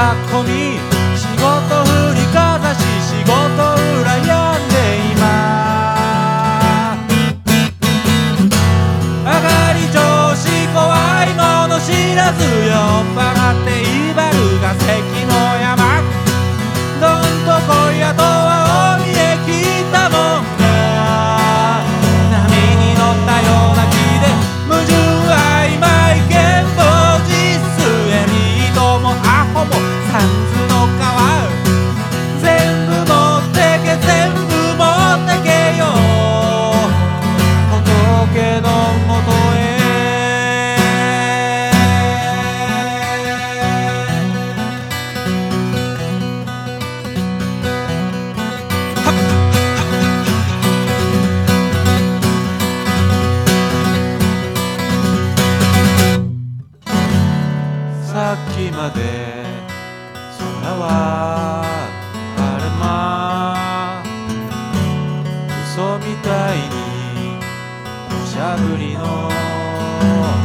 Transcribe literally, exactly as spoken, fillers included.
こみ仕事振りかざし仕事羨んでいます上がり調子怖いもの知らず酔っ払って威張るが関の山どんとこいやとは大見え切ったもんが波に乗ったような気で矛盾曖昧見当実数エリートもアホもサンズの皮全部持ってけ全部持ってけよ仏のもとへさっきまで空は晴れ間嘘みたいに土砂降りの